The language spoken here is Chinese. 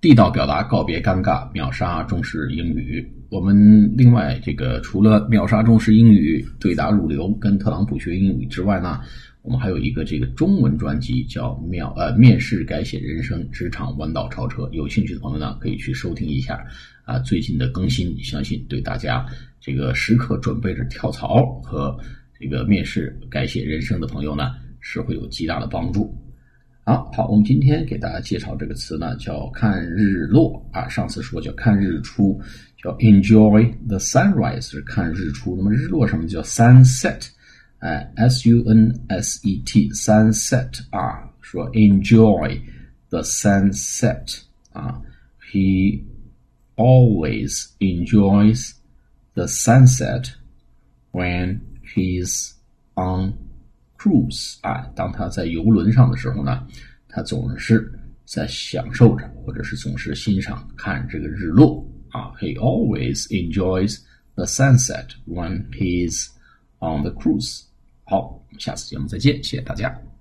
地道表达，告别尴尬，秒杀中式英语。我们另外除了秒杀中式英语对答如流跟特朗普学英语之外呢，我们还有一个中文专辑叫面试改写人生，职场弯道超车。有兴趣的朋友呢，可以去收听一下最近的更新，相信对大家时刻准备着跳槽和面试改写人生的朋友呢，是会有极大的帮助。好，我们今天给大家介绍这个词呢，叫看日落上次说叫看日出，叫 enjoy the sunrise 是看日出，那么日落什么叫 sunset sunset sunset 说 enjoy the sunset he always enjoys the sunset when he's on cruise 当他在游轮上的时候呢，他总是在享受着，或者是总是欣赏看这个日落He always enjoys the sunset when he's on the cruise. 好，下次节目再见，谢谢大家。